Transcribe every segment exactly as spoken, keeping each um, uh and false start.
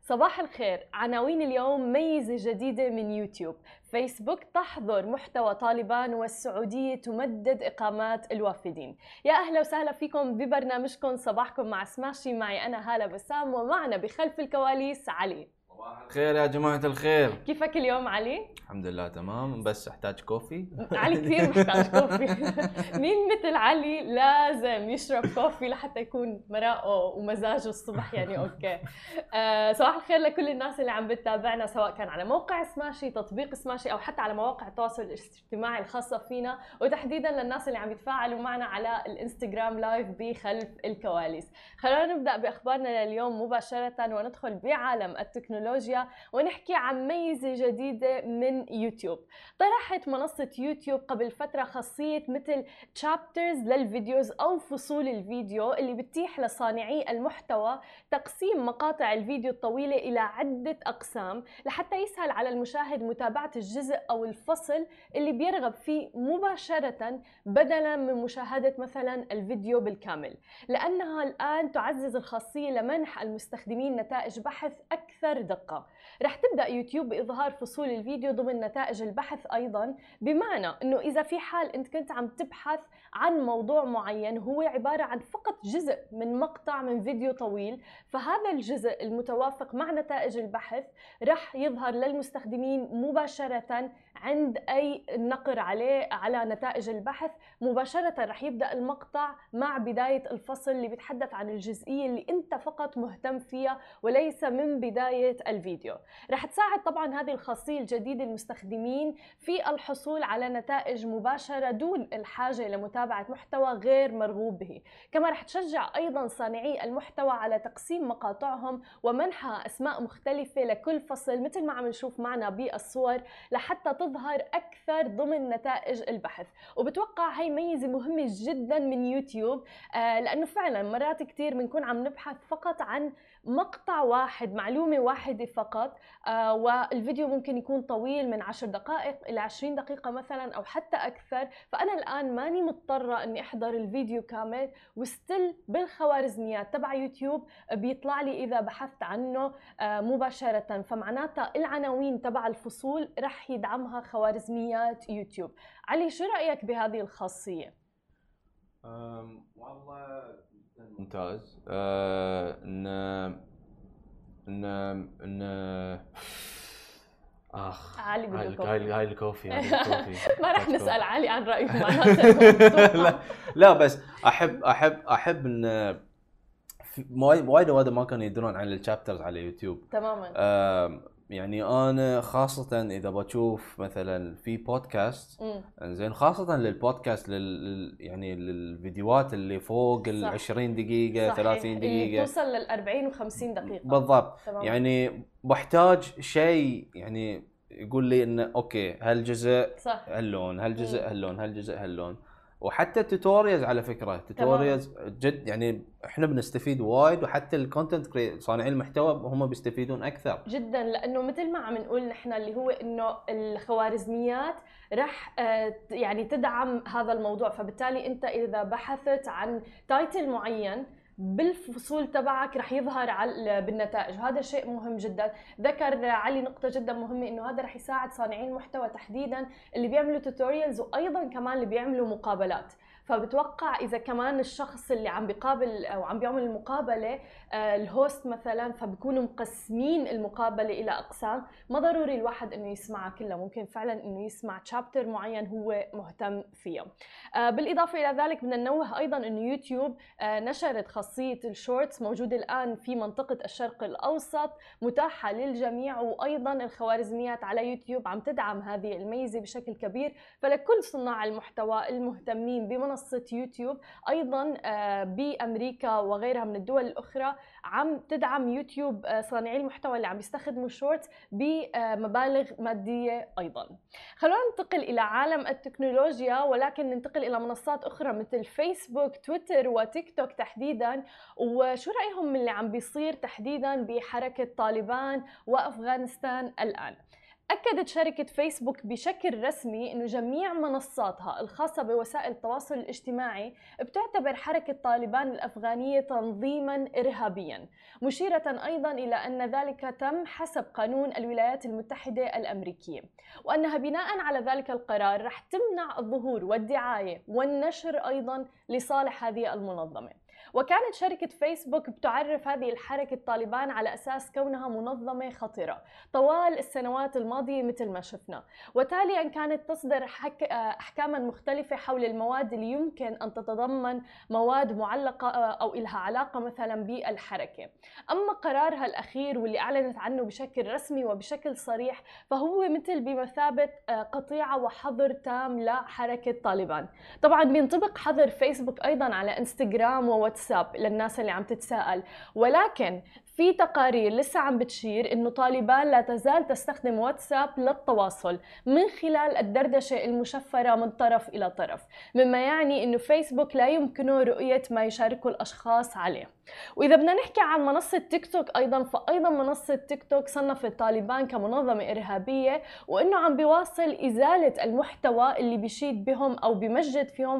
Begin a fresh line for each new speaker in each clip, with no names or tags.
صباح الخير. عناوين اليوم: ميزة جديدة من يوتيوب، فيسبوك تحظر محتوى طالبان، والسعودية تمدد إقامات الوافدين. يا أهلا وسهلا فيكم ببرنامجكم صباحكم مع سماشي. معي أنا هالة بسام، ومعنا بخلف الكواليس علي.
صباح الخير يا جماعة الخير.
كيفك اليوم علي؟
الحمد لله تمام، بس احتاج كوفي.
علي كثير محتاج كوفي. مين مثل علي لازم يشرب كوفي لحتى يكون مرائه ومزاجه الصبح يعني اوكي. آه صباح الخير لكل الناس اللي عم بتتابعنا، سواء كان على موقع سماشي، تطبيق سماشي، او حتى على مواقع التواصل الاجتماعي الخاصة فينا، وتحديدا للناس اللي عم يتفاعلوا معنا على الانستغرام لايف بخلف الكواليس. خلونا نبدأ بأخبارنا لليوم مباشرة وندخل بعالم التكنولوجيا ونحكي عن ميزة جديدة من يوتيوب. طرحت منصة يوتيوب قبل فترة خاصية مثل تشابترز للفيديوز أو فصول الفيديو، اللي بتتيح لصانعي المحتوى تقسيم مقاطع الفيديو الطويلة إلى عدة أقسام لحتى يسهل على المشاهد متابعة الجزء أو الفصل اللي بيرغب فيه مباشرة، بدلاً من مشاهدة مثلاً الفيديو بالكامل، لأنها الآن تعزز الخاصية لمنح المستخدمين نتائج بحث أكثر دقة. رح تبدأ يوتيوب بإظهار فصول الفيديو ضمن نتائج البحث أيضاً، بمعنى أنه إذا في حال أنت كنت عم تبحث عن موضوع معين هو عبارة عن فقط جزء من مقطع من فيديو طويل، فهذا الجزء المتوافق مع نتائج البحث رح يظهر للمستخدمين مباشرة عند أي نقر عليه على نتائج البحث. مباشرة رح يبدأ المقطع مع بداية الفصل اللي بيتحدث عن الجزئية اللي أنت فقط مهتم فيها وليس من بداية الفيديو. رح تساعد طبعا هذه الخاصية الجديدة المستخدمين في الحصول على نتائج مباشرة دون الحاجة لمتابعة محتوى غير مرغوب به. كما رح تشجع أيضا صانعي المحتوى على تقسيم مقاطعهم ومنحها أسماء مختلفة لكل فصل، مثل ما عم نشوف معنا بالصور، لحتى تظهر أكثر ضمن نتائج البحث. وبتوقع هاي ميزة مهمة جدا من يوتيوب، آه لأنه فعلا مرات كتير بنكون عم نبحث فقط عن مقطع واحد، معلومة واحدة فقط، آه والفيديو ممكن يكون طويل من عشر دقائق إلى عشرين دقيقة مثلا أو حتى أكثر. فأنا الآن ماني مضطرة أني أحضر الفيديو كامل، وستيل بالخوارزميات تبع يوتيوب بيطلع لي إذا بحثت عنه آه مباشرة. فمعناتها العناوين تبع الفصول رح يدعمها خوارزميات يوتيوب. علي، شو رأيك بهذه الخاصية؟
والله ممتاز. أه ان ان ان اخ
علي بده
هاي
كوفي.
هاي هاي الكوفي هاي الكوفي
ما رح
كوفي.
نسأل علي عن رأيه معناته.
لا لا، بس احب احب احب ان في- وايد وايد وايد ما كانوا يدرون عن الشابترز على يوتيوب
تماما.
آه يعني انا خاصه اذا بشوف مثلا في بودكاست، انزين خاصه للبودكاست لل يعني للفيديوهات اللي فوق ال عشرين دقيقه
صحيح.
ثلاثين دقيقه
اللي توصل لل أربعين وخمسين دقيقه
بالضبط.
تمام.
يعني بحتاج شيء يعني يقول لي انه اوكي هالجزء
صح.
هاللون، هالجزء هاللون، هالجزء هاللون. وحتى التوتوريالز على فكره توتوريالز جد يعني احنا بنستفيد وايد، وحتى الكونتنت صانعين المحتوى هم بيستفيدون اكثر
جدا، لانه مثل ما عم نقول نحن اللي هو انه الخوارزميات رح يعني تدعم هذا الموضوع. فبالتالي انت اذا بحثت عن تايتل معين بالفصول تبعك رح يظهر على بالنتائج، وهذا شيء مهم جدا. ذكر علي نقطة جدا مهمة، انه هذا رح يساعد صانعين المحتوى تحديدا اللي بيعملوا توتوريالز، وايضا كمان اللي بيعملوا مقابلات. فبتوقع اذا كمان الشخص اللي عم بيقابل او عم بيعمل المقابله آه الهوست مثلا، فبكونوا مقسمين المقابله الى اقسام، ما ضروري الواحد انه يسمعها كلها، ممكن فعلا انه يسمع تشابتر معين هو مهتم فيه. آه بالاضافه الى ذلك بدنا ننوه ايضا انه يوتيوب آه نشرت خاصيه الشورتس، موجوده الان في منطقه الشرق الاوسط، متاحه للجميع، وايضا الخوارزميات على يوتيوب عم تدعم هذه الميزه بشكل كبير. فلكل صناع المحتوى المهتمين بمنصه يوتيوب، ايضا بامريكا وغيرها من الدول الاخرى عم تدعم يوتيوب صانعي المحتوى اللي عم يستخدموا الشورتس بمبالغ ماديه ايضا. خلونا ننتقل الى عالم التكنولوجيا، ولكن ننتقل الى منصات اخرى مثل فيسبوك، تويتر وتيك توك تحديدا. وشو رايهم من اللي عم بيصير تحديدا بحركه طالبان وافغانستان الان؟ أكدت شركة فيسبوك بشكل رسمي أنه جميع منصاتها الخاصة بوسائل التواصل الاجتماعي بتعتبر حركة طالبان الأفغانية تنظيماً إرهابياً، مشيرة أيضاً إلى أن ذلك تم حسب قانون الولايات المتحدة الأمريكية، وأنها بناء على ذلك القرار رح تمنع الظهور والدعاية والنشر أيضاً لصالح هذه المنظمة. وكانت شركة فيسبوك بتعرف هذه الحركة طالبان على أساس كونها منظمة خطرة طوال السنوات الماضية مثل ما شفنا، وتاليا كانت تصدر حك... أحكاما مختلفة حول المواد اللي يمكن أن تتضمن مواد معلقة أو إلها علاقة مثلا بالحركة. أما قرارها الأخير واللي أعلنت عنه بشكل رسمي وبشكل صريح فهو مثل بمثابة قطيعة وحظر تام لحركة طالبان. طبعا بينطبق حظر فيسبوك أيضا على انستغرام وواتساب للناس اللي عم تتساءل، ولكن في تقارير لسه عم بتشير إنه طالبان لا تزال تستخدم واتساب للتواصل من خلال الدردشة المشفرة من طرف إلى طرف، مما يعني إنه فيسبوك لا يمكنه رؤية ما يشاركه الأشخاص عليه. وإذا بدنا نحكي عن منصة تيك توك أيضاً، فأيضاً منصة تيك توك صنفت طالبان كمنظمة إرهابية، وإنه عم بيواصل إزالة المحتوى اللي بيشيد بهم أو بيمجد فيهم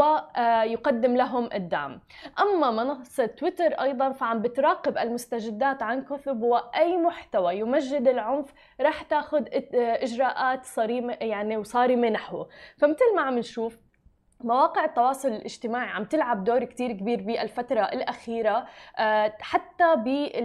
ويقدم لهم الدعم. أما منصة تويتر أيضاً فعم بتراقب المستجدات عن كثب، وأي محتوى يمجد العنف رح تاخذ إجراءات صارمة يعني وصارمة نحوه. فمثل ما عم نشوف مواقع التواصل الاجتماعي عم تلعب دور كتير كبير بالفترة الأخيرة حتى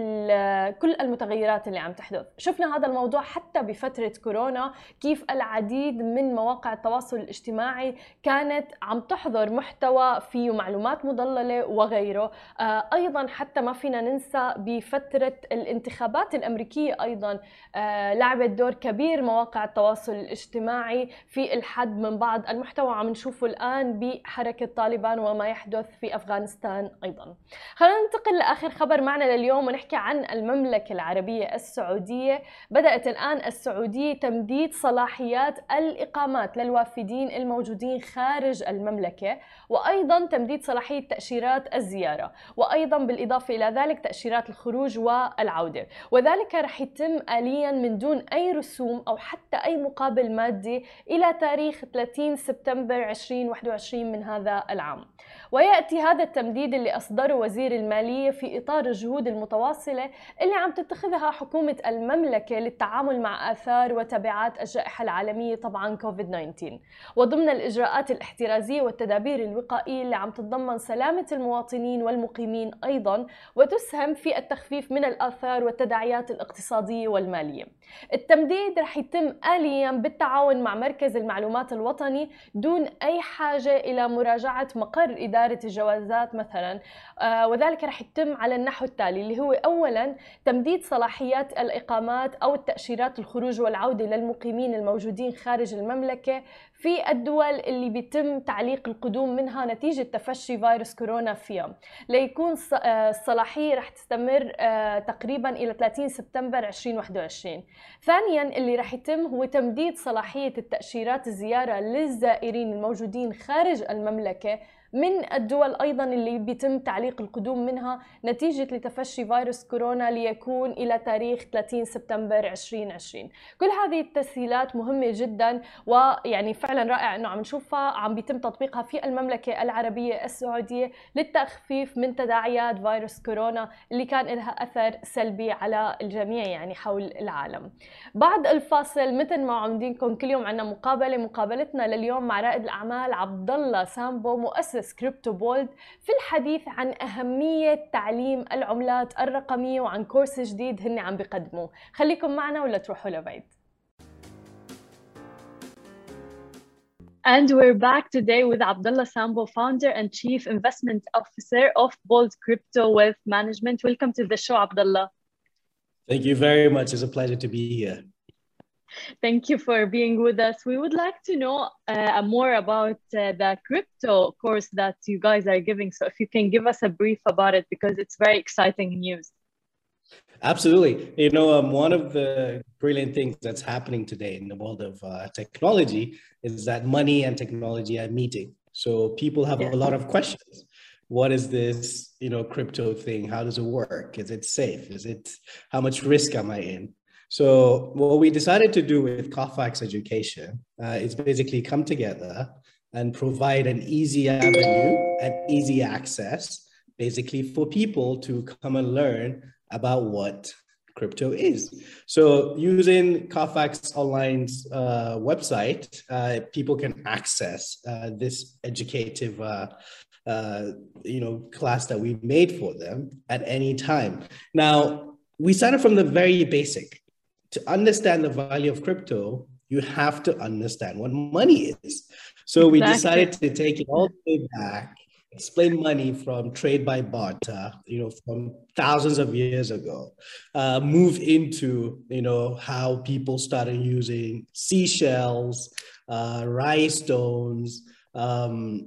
بكل المتغيرات اللي عم تحدث. شفنا هذا الموضوع حتى بفترة كورونا، كيف العديد من مواقع التواصل الاجتماعي كانت عم تحضر محتوى فيه معلومات مضللة وغيره. أيضا حتى ما فينا ننسى بفترة الانتخابات الأمريكية أيضا لعبت دور كبير مواقع التواصل الاجتماعي في الحد من بعض المحتوى عم نشوفه الآن بحركة طالبان وما يحدث في أفغانستان أيضاً. خلينا ننتقل لآخر خبر معنا لليوم ونحكي عن المملكة العربية السعودية. بدأت الآن السعودية تمديد صلاحيات الإقامات للوافدين الموجودين خارج المملكة، وأيضاً تمديد صلاحية تأشيرات الزيارة، وأيضاً بالإضافة إلى ذلك تأشيرات الخروج والعودة، وذلك رح يتم آلياً من دون أي رسوم أو حتى أي مقابل مادي إلى تاريخ ثلاثين سبتمبر ألفين وواحد وعشرين من هذا العام. ويأتي هذا التمديد اللي أصدره وزير المالية في إطار الجهود المتواصلة اللي عم تتخذها حكومة المملكة للتعامل مع آثار وتبعات الجائحة العالمية طبعاً كوفيد تسعة عشر، وضمن الإجراءات الاحترازية والتدابير الوقائية اللي عم تتضمن سلامة المواطنين والمقيمين أيضاً، وتسهم في التخفيف من الآثار والتداعيات الاقتصادية والمالية. التمديد رح يتم آلياً بالتعاون مع مركز المعلومات الوطني دون أي حاجة إلى مراجعة مقر إدارة الجوازات مثلا، آه وذلك رح يتم على النحو التالي اللي هو أولا تمديد صلاحيات الإقامات أو التأشيرات الخروج والعودة للمقيمين الموجودين خارج المملكة في الدول اللي بيتم تعليق القدوم منها نتيجة تفشي فيروس كورونا فيها، ليكون الصلاحية رح تستمر تقريبا إلى ثلاثين سبتمبر ألفين وواحد وعشرين. ثانيا اللي رح يتم هو تمديد صلاحية التأشيرات الزيارة للزائرين الموجودين خارج المملكة من الدول أيضاً اللي بيتم تعليق القدوم منها نتيجة لتفشي فيروس كورونا ليكون إلى تاريخ ثلاثين سبتمبر ألفين وعشرين. كل هذه التسهيلات مهمة جداً، ويعني فعلاً رائع أنه عم نشوفها عم بيتم تطبيقها في المملكة العربية السعودية للتخفيف من تداعيات فيروس كورونا اللي كان لها أثر سلبي على الجميع يعني حول العالم. بعد الفاصل مثل ما عم دينكم كل يوم عنا مقابلة، مقابلتنا لليوم مع رائد الأعمال عبدالله سامبو مؤسس كريبتو بولد في الحديث عن أهمية تعليم العملات الرقمية وعن كورس جديد هن عم بيقدموه. خليكم معنا ولا تروحوا لبعيد. And we're back today with Abdullah Sambo, founder and chief investment officer of Bold Crypto Wealth Management. Welcome to the show, Abdullah.
Thank you very much. It's a pleasure to be here.
Thank you for being with us. We would like to know uh, more about uh, the crypto course that you guys are giving. So if you can give us a brief about it, because it's very exciting news.
Absolutely. You know, um, one of the brilliant things that's happening today in the world of uh, technology is that money and technology are meeting. So people have yeah. a lot of questions. What is this, you know, crypto thing? How does it work? Is it safe? Is it, how much risk am I in? So what we decided to do with Carfax Education uh, is basically come together and provide an easy avenue and easy access, basically for people to come and learn about what crypto is. So using Carfax Online's uh, website, uh, people can access uh, this educative uh, uh, you know, class that we made for them at any time. Now, we started from the very basic. To understand the value of crypto, you have to understand what money is. So we exactly. decided to take it all the way back, explain money from trade by barter, you know, from thousands of years ago, uh, move into, you know, how people started using seashells, uh, rhinestones, um,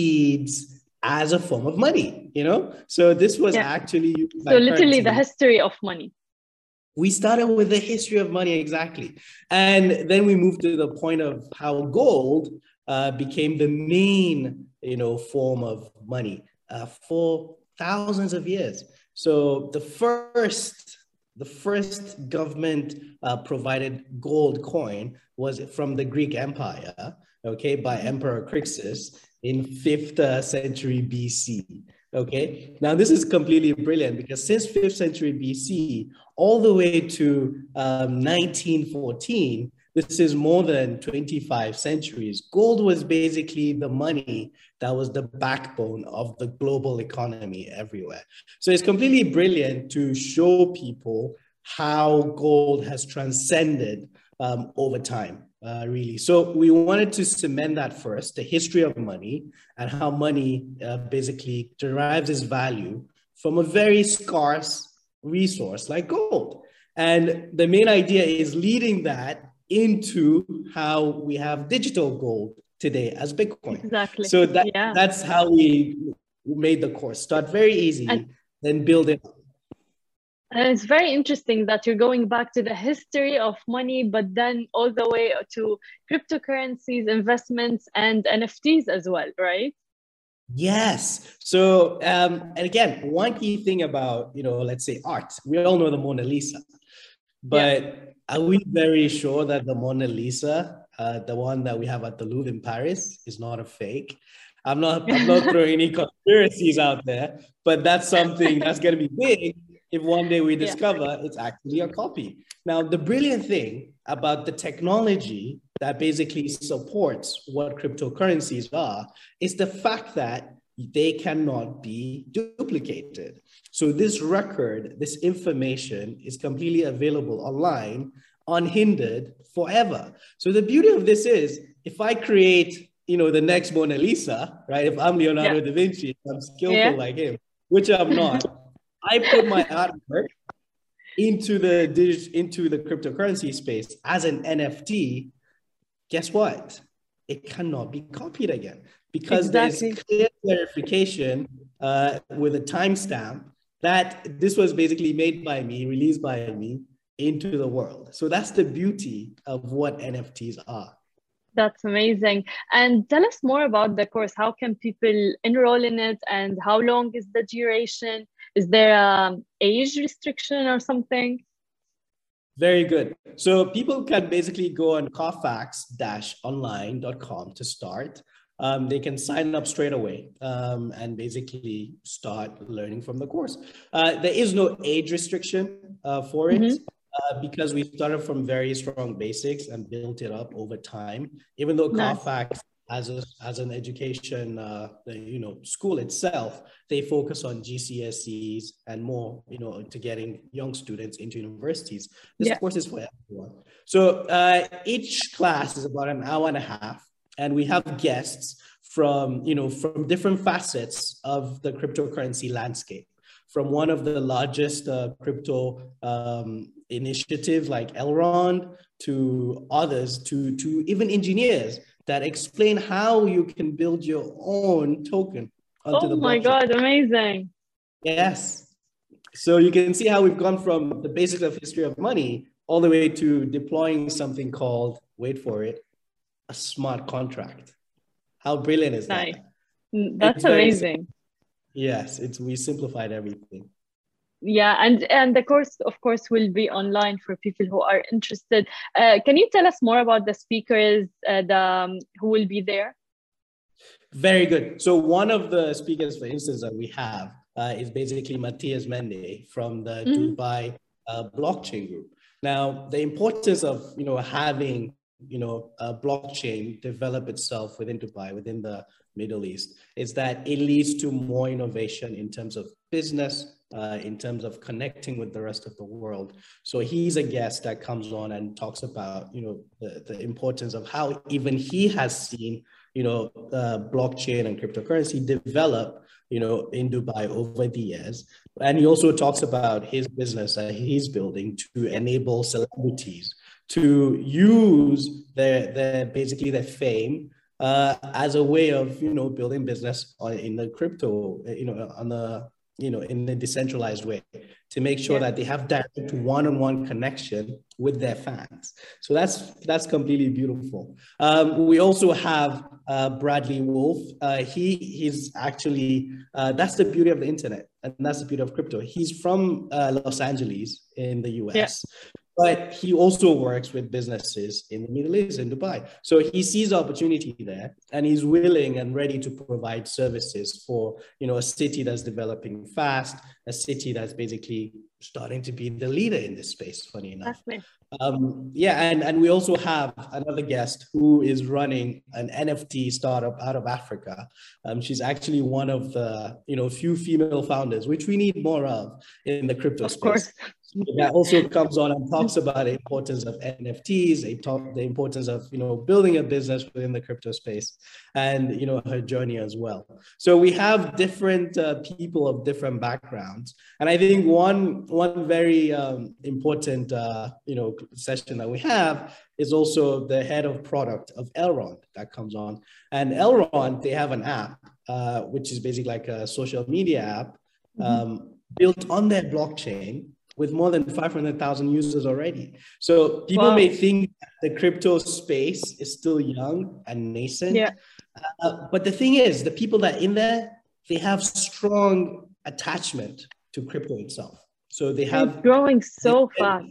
seeds as a form of money, you know? So this was yeah. actually...
So literally the history of money.
We started with the history of money, exactly. And then we moved to the point of how gold uh, became the main, you know, form of money uh, for thousands of years. So the first, the first government uh, provided gold coin was from the Greek Empire, okay, by Emperor Crixus in fifth century B C. Okay, now this is completely brilliant because since fifth century B C all the way to um, nineteen fourteen, this is more than twenty-five centuries. Gold was basically the money that was the backbone of the global economy everywhere. So it's completely brilliant to show people how gold has transcended um, over time. Uh, really. So we wanted to cement that first, the history of money and how money uh, basically derives its value from a very scarce resource like gold. And the main idea is leading that into how we have digital gold today as Bitcoin.
Exactly.
So that,
yeah.
that's how we made the course. Start very easy, and then build it up.
And it's very interesting that you're going back to the history of money, but then all the way to cryptocurrencies, investments, and N F Ts as well, right?
Yes. So, um, and again, one key thing about, you know, let's say art, we all know the Mona Lisa, but yeah. are we very sure that the Mona Lisa, uh, the one that we have at the Louvre in Paris, is not a fake? I'm not, I'm not throwing any conspiracies out there, but that's something that's going to be big if one day we discover yeah. it's actually a copy. Now, the brilliant thing about the technology that basically supports what cryptocurrencies are is the fact that they cannot be duplicated. So this record, this information is completely available online, unhindered forever. So the beauty of this is, if I create, you know, the next Mona Lisa, right? If I'm Leonardo yeah. da Vinci, I'm skillful yeah. like him, which I'm not. I put my artwork into the dig- into the cryptocurrency space as an N F T. Guess what? It cannot be copied again because exactly. there's clear clarification uh, with a timestamp that this was basically made by me, released by me into the world. So that's the beauty of what N F Ts are.
That's amazing. And tell us more about the course. How can people enroll in it, and how long is the duration? Is there an age restriction or something?
Very good. So people can basically go on carfax dash online dot com to start. Um, they can sign up straight away um, and basically start learning from the course. Uh, there is no age restriction uh, for it. Mm-hmm. Uh, because we started from very strong basics and built it up over time. Even though nice. Carfax, as a, as an education, uh, you know, school itself, they focus on G C S Es and more, you know, to getting young students into universities. This yeah. course is for everyone. So uh, each class is about an hour and a half, and we have guests from, you know, from different facets of the cryptocurrency landscape. From one of the largest uh, crypto um, initiatives like Elrond to others, to, to even engineers that explain how you can build your own token onto
oh
the blockchain.
Oh my God, amazing.
Yes. So you can see how we've gone from the basics of history of money all the way to deploying something called, wait for it, a smart contract. How brilliant is
nice.
that?
That's
it's
amazing.
Very, yes, it's we simplified everything.
Yeah, and and the course, of course, will be online for people who are interested. Uh, can you tell us more about the speakers uh, the, um, who will be there?
Very good. So one of the speakers, for instance, that we have uh, is basically Matthias Mende from the mm-hmm. Dubai uh, blockchain group. Now, the importance of, you know, having, you know, a blockchain develop itself within Dubai, within the Middle East, is that it leads to more innovation in terms of business, uh, in terms of connecting with the rest of the world. So he's a guest that comes on and talks about, you know, the, the importance of how even he has seen, you know, uh, blockchain and cryptocurrency develop, you know, in Dubai over the years. And he also talks about his business that he's building to enable celebrities to use their, their basically their fame uh, as a way of, you know, building business on, in the crypto, you know, on the, you know, in a decentralized way to make sure yeah. that they have direct one-on-one connection with their fans. So that's that's completely beautiful. Um, we also have uh, Bradley Wolf. Uh, he he's actually uh, that's the beauty of the internet, and that's the beauty of crypto. He's from uh, Los Angeles in the U S. Yeah. But he also works with businesses in the Middle East, in Dubai. So he sees opportunity there, and he's willing and ready to provide services for, you know, a city that's developing fast, a city that's basically starting to be the leader in this space, funny enough. Um, yeah, and, and we also have another guest who is running an N F T startup out of Africa. Um, she's actually one of the, you know, few female founders, which we need more of in the crypto
of
space.
Course.
That also comes on and talks about the importance of N F Ts, they talk the importance of, you know, building a business within the crypto space, and, you know, her journey as well. So we have different uh, people of different backgrounds, and I think one one very um, important, uh, you know, session that we have is also the head of product of Elrond that comes on, and Elrond, they have an app uh, which is basically like a social media app um, mm-hmm. built on their blockchain, with more than five hundred thousand users already. So people wow. may think the crypto space is still young and nascent.
Yeah.
Uh, but the thing is, the people that are in there, they have strong attachment to crypto itself. So they have-
It's growing so they, fast.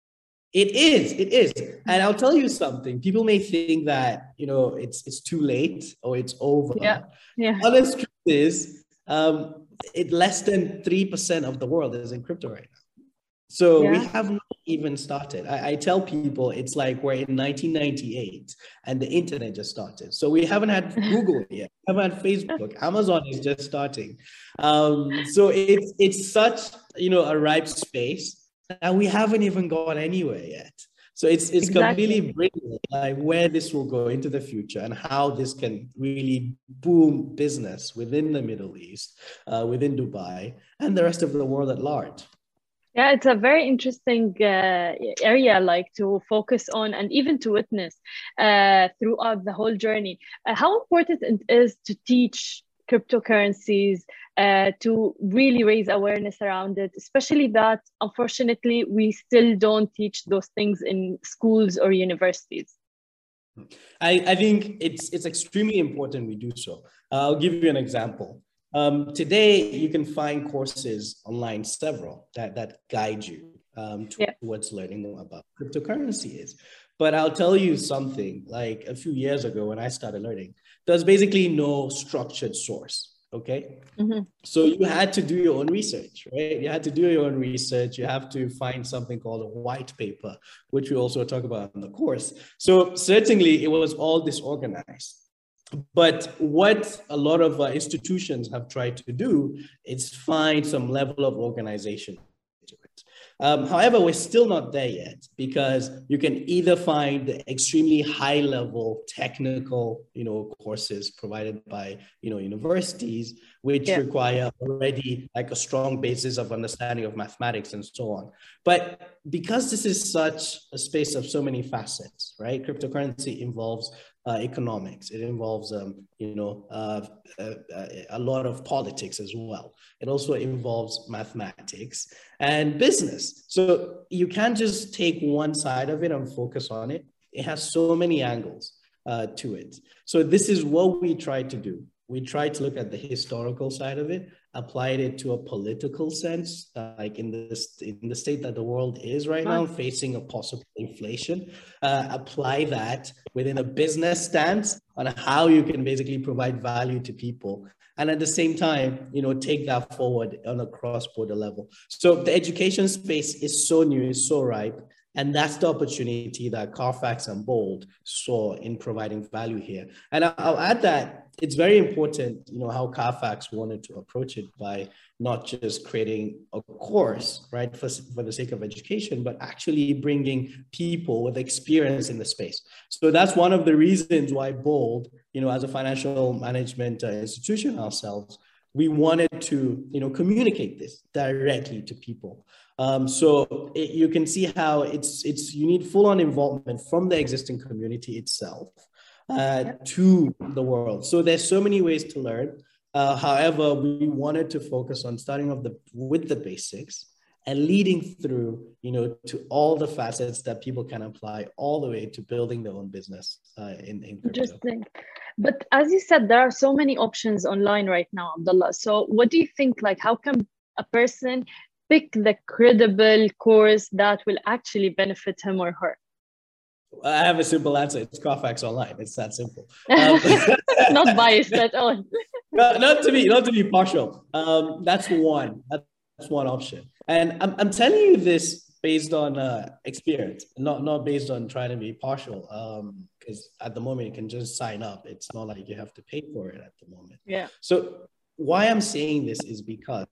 It is, it is. And I'll tell you something, people may think that, you know, it's it's too late or it's over.
Yeah. Yeah.
Honest truth is, um, it less than three percent of the world is in crypto right now. So yeah. we have not even started. I, I tell people it's like we're in nineteen ninety-eight and the internet just started. So we haven't had Google yet, we haven't had Facebook, Amazon is just starting. Um, so it's it's such, you know, a ripe space and we haven't even gone anywhere yet. So it's it's
exactly.
completely brilliant, like where this will go into the future and how this can really boom business within the Middle East, uh, within Dubai, and the rest of the world at large.
Yeah, it's a very interesting uh, area, like to focus on and even to witness uh, throughout the whole journey. Uh, how important it is to teach cryptocurrencies, uh, to really raise awareness around it, especially that, unfortunately, we still don't teach those things in schools or universities.
I, I think it's, it's extremely important we do so. Uh, I'll give you an example. Um, today, you can find courses online, several, that, that guide you um, towards yeah. learning more about cryptocurrency is. But I'll tell you something, like a few years ago when I started learning, there's basically no structured source, okay? Mm-hmm. So you had to do your own research, right? You had to do your own research. You have to find something called a white paper, which we also talk about in the course. So certainly it was all disorganized. But what a lot of uh, institutions have tried to do is find some level of organization to it. Um, however, we're still not there yet because you can either find the extremely high level technical, you know, courses provided by, you know, universities, which yeah. require already like a strong basis of understanding of mathematics and so on. But because this is such a space of so many facets, right? Cryptocurrency involves Uh, economics. It involves, um, you know, uh, uh, a lot of politics as well. It also involves mathematics and business. So you can't just take one side of it and focus on it. It has so many angles uh, to it. So this is what we try to do. We try to look at the historical side of it applied it to a political sense, uh, like in this in the state that the world is right now, facing a possible inflation, uh, apply that within a business stance on how you can basically provide value to people. And at the same time, you know, take that forward on a cross-border level. So the education space is so new, is so ripe. And that's the opportunity that Carfax and Bold saw in providing value here. And I'll add that it's very important, you know, how Carfax wanted to approach it by not just creating a course, right, for, for the sake of education, but actually bringing people with experience in the space. So that's one of the reasons why Bold, you know, as a financial management uh, institution ourselves, we wanted to, you know, communicate this directly to people. Um, so it, you can see how it's, it's you need full-on involvement from the existing community itself uh, to the world. So there's so many ways to learn. Uh, however, we wanted to focus on starting off the, with the basics and leading through, you know, to all the facets that people can apply all the way to building their own business uh, in, in crypto.
Interesting. But as you said, there are so many options online right now, Abdullah. So what do you think, like, how can a person pick the credible course that will actually benefit him or her?
I have a simple answer. It's Carfax Online. It's that simple. Um,
not biased at all.
not, not to be not to be partial. Um, that's one. That's one option. And I'm I'm telling you this based on uh, experience, not not based on trying to be partial. Um, because at the moment you can just sign up. It's not like you have to pay for it at the moment.
Yeah.
So why I'm saying this is because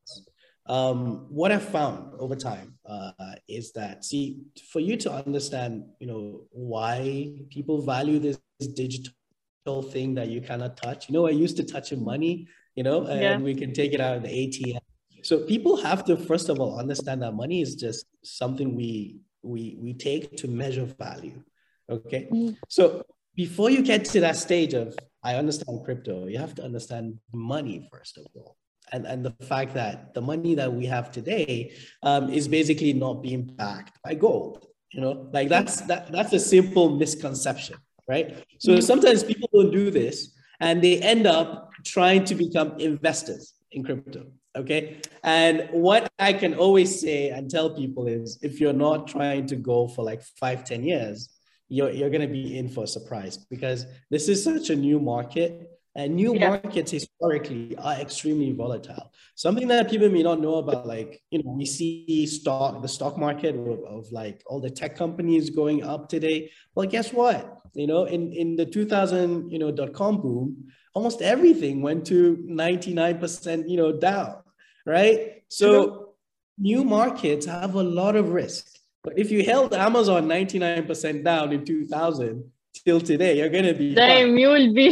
Um, what I've found over time uh, is that, see, for you to understand, you know, why people value this, this digital thing that you cannot touch. You know, I used to touch your money, you know, and yeah. we can take it out of the A T M. So people have to, first of all, understand that money is just something we we we take to measure value. Okay. Mm. So before you get to that stage of, I understand crypto, you have to understand money, first of all. And, and the fact that the money that we have today um, is basically not being backed by gold, you know, like that's, that, that's a simple misconception, right? So sometimes people don't do this and they end up trying to become investors in crypto, okay? And what I can always say and tell people is, if you're not trying to go for like five, ten years, you're, you're gonna be in for a surprise, because this is such a new market. And new yeah. markets historically are extremely volatile. Something that people may not know about, like, you know, we see stock, the stock market of, of like all the tech companies going up today. Well, guess what? You know, in, in the two thousand, you know, dot-com boom, almost everything went to ninety-nine percent, you know, down, right? So True. New markets have a lot of risk. But if you held Amazon ninety-nine percent down in two thousand till today, you're going to be
Damn, you will be...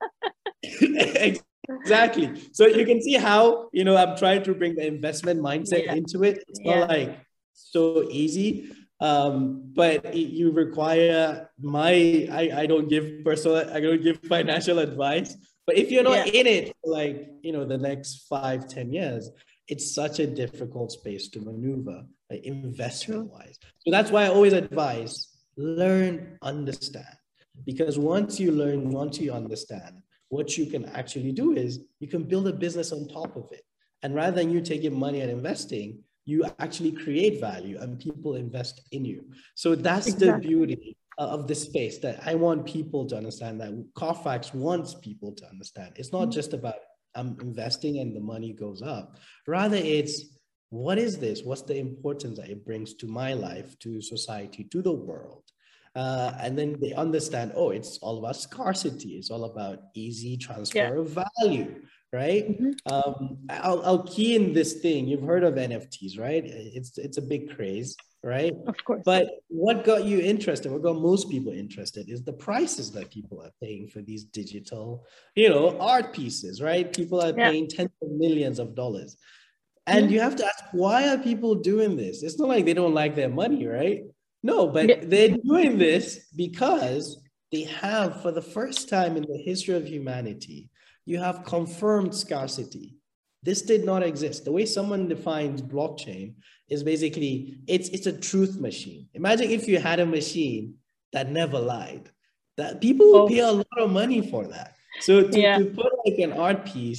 Exactly. So you can see how, you know, I'm trying to bring the investment mindset yeah. into it. It's not yeah. like so easy, um, but it, you require my, I, I don't give personal, I don't give financial advice, but if you're not yeah. in it for like, you know, the next five, ten years, it's such a difficult space to maneuver, like investment wise. So that's why I always advise, learn, understand, because once you learn, once you understand, what you can actually do is you can build a business on top of it. And rather than you taking money and investing, you actually create value and people invest in you. So that's exactly. the beauty of this space that I want people to understand, that Carfax wants people to understand. It's not just about I'm investing and the money goes up. Rather, it's what is this? What's the importance that it brings to my life, to society, to the world? Uh, and then they understand, oh, it's all about scarcity. It's all about easy transfer yeah. of value, right? Mm-hmm. um, I'll, I'll key in this thing. You've heard of N F Ts, right? It's, it's a big craze, right?
Of course.
But what got you interested, what got most people interested is the prices that people are paying for these digital, you know, art pieces, right? People are yeah. paying tens of millions of dollars. And mm-hmm. you have to ask, why are people doing this? It's not like they don't like their money, right? No, but they're doing this because they have, for the first time in the history of humanity, you have confirmed scarcity. This did not exist. The way someone defines blockchain is basically, it's, it's a truth machine. Imagine if you had a machine that never lied. That people would oh. pay a lot of money for that. So to, yeah. to put like an art piece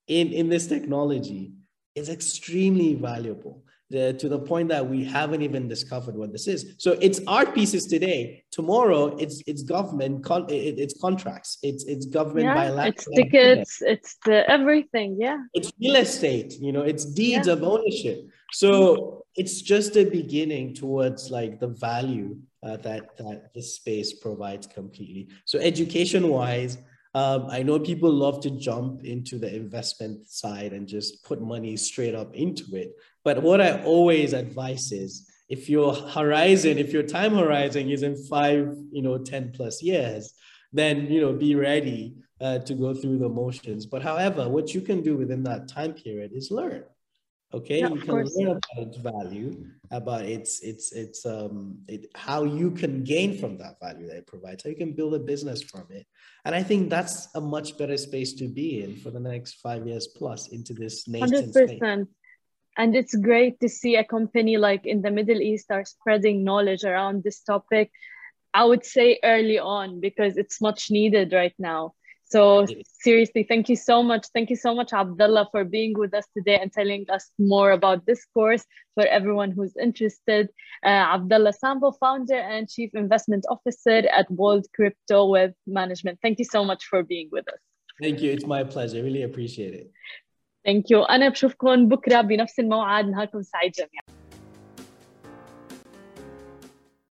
in, in this technology is extremely valuable. The, to the point that we haven't even discovered what this is. So it's art pieces today. Tomorrow, it's it's government, con, it, it's contracts, it's it's government
yeah,
bilateral.
It's tickets, agreement. It's the everything. Yeah,
it's real estate. You know, it's deeds yeah. of ownership. So it's just a beginning towards like the value uh, that that this space provides completely. So education-wise. Um, I know people love to jump into the investment side and just put money straight up into it. But what I always advise is if your horizon, if your time horizon is in five, you know, ten plus years, then, you know, be ready uh, to go through the motions. But however, what you can do within that time period is learn. Okay,
yeah,
you can
course.
learn about its value, about its its its um it, how you can gain from that value that it provides, how you can build a business from it. And I think that's a much better space to be in for the next five years plus into this nascent
one hundred percent. Space. And it's great to see a company like in the Middle East are spreading knowledge around this topic. I would say early on, because it's much needed right now. So seriously, thank you so much. Thank you so much, Abdullah, for being with us today and telling us more about this course for everyone who's interested. Uh, Abdullah Sambo, founder and chief investment officer at Bold Crypto Wealth Management. Thank you so much for being with us.
Thank you. It's my pleasure. Really appreciate it.
Thank you. أنا بشوفكم بكرة بنفس الموعد. نهاركم سعيد جميعا.